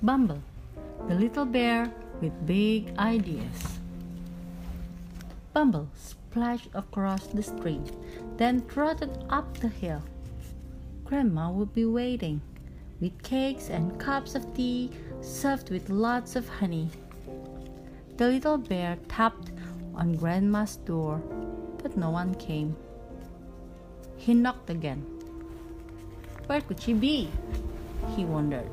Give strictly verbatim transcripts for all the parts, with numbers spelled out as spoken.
Bumble, the little bear with big ideas. Bumble splashed across the stream, then trotted up the hill. Grandma would be waiting, with cakes and cups of tea served with lots of honey. The little bear tapped on Grandma's door, but no one came. He knocked again. Where could she be? He wondered.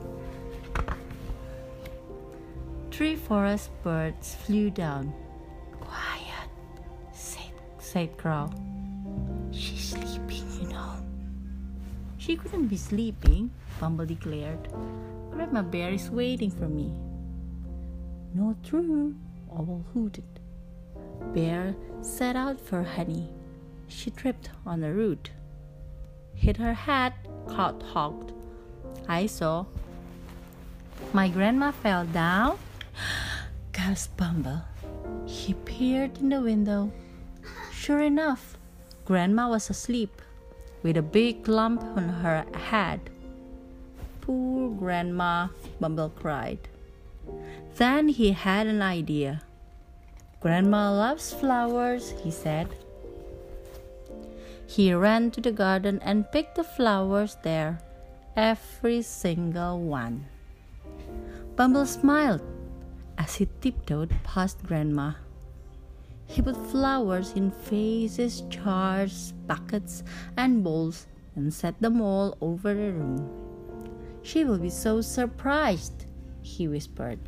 Three forest birds flew down. Quiet, said, said Crow. She's sleeping, you know. She couldn't be sleeping, Bumble declared. Grandma Bear is waiting for me. Not true, Owl hooted. Bear set out for honey. She tripped on a root. Hit her hat, Cloud honked. I saw. My grandma fell down? Gasped Bumble. He peered in the window. Sure enough, Grandma was asleep, with a big lump on her head. Poor Grandma, Bumble cried. Then he had an idea. Grandma loves flowers, he said. He ran to the garden and picked the flowers there, every single one. Bumble smiled as he tiptoed past Grandma. He put flowers in vases, jars, buckets, and bowls and set them all over the room. She will be so surprised, he whispered.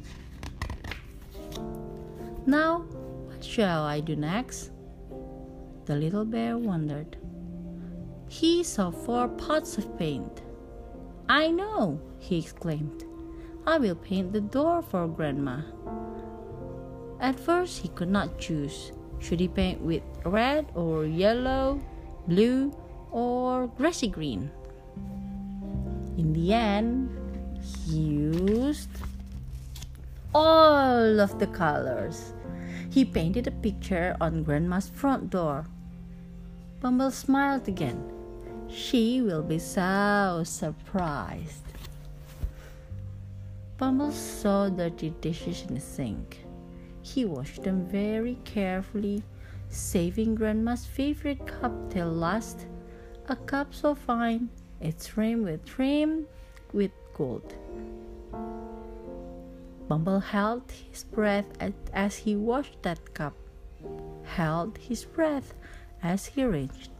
Now, what shall I do next? The little bear wondered. He saw four pots of paint. I know, he exclaimed. I will paint the door for Grandma. At first, he could not choose. Should he paint with red or yellow, blue, or grassy green? In the end, he used all of the colors. He painted a picture on Grandma's front door. Bumble smiled again. She will be so surprised. Bumble saw dirty dishes in the sink. He washed them very carefully, saving Grandma's favorite cup till last. A cup so fine, it's rimmed with trim with gold. Bumble held his breath as he washed that cup, held his breath as he reached.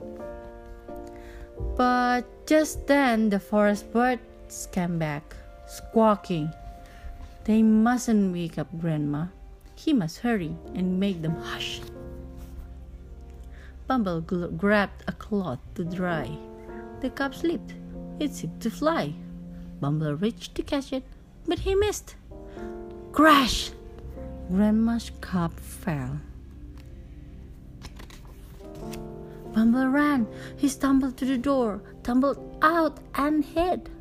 But just then the forest birds came back, squawking. They mustn't wake up Grandma. He must hurry and make them hush. Bumble gl- grabbed a cloth to dry. The cup slipped. It seemed to fly. Bumble reached to catch it, but he missed. Crash! Grandma's cup fell. Bumble ran. He stumbled to the door, tumbled out, and hid.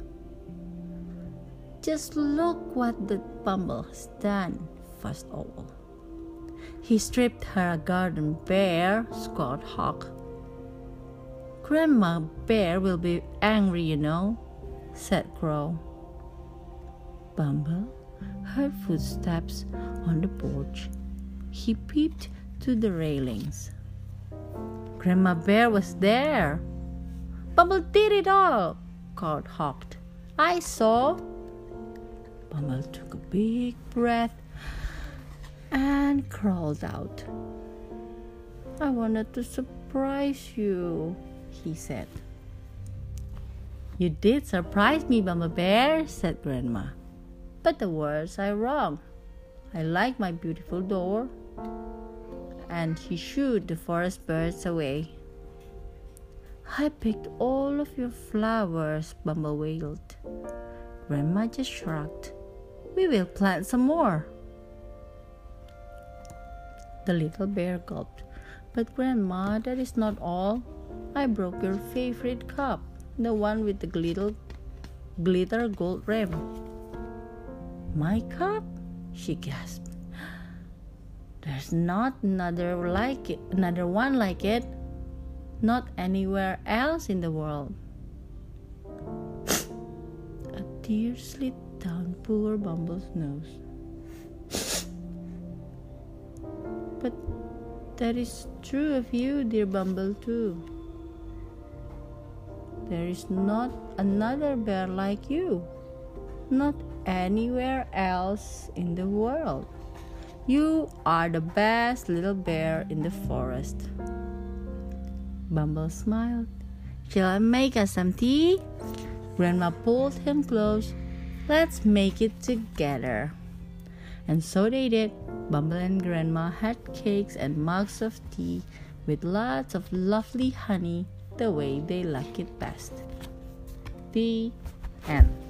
Just look what the Bumble has done, fussed Owl. He stripped her a garden bare, squawked Hawk. Grandma Bear will be angry, you know, said Crow. Bumble heard footsteps on the porch. He peeped to the railings. Grandma Bear was there. Bumble did it all, called Hawk. I saw. Bumble took a big breath and crawled out. I wanted to surprise you, he said. You did surprise me, Bumble Bear, said Grandma. But the words are wrong. I like my beautiful door. And he shooed the forest birds away. I picked all of your flowers, Bumble wailed. Grandma just shrugged. We will plant some more. The little bear gulped. But Grandma, that is not all. I broke your favorite cup, the one with the glitter, glitter gold rim. My cup? She gasped. There's not another like it, another one like it. Not anywhere else in the world. A tears slid down poor Bumble's nose. But that is true of you, dear Bumble, too. There is not another bear like you, not anywhere else in the world. You are the best little bear in the forest. Bumble smiled. Shall I make us some tea? Grandma pulled him close. Let's make it together. And so they did. Bumble and Grandma had cakes and mugs of tea with lots of lovely honey, the way they like it best. The end.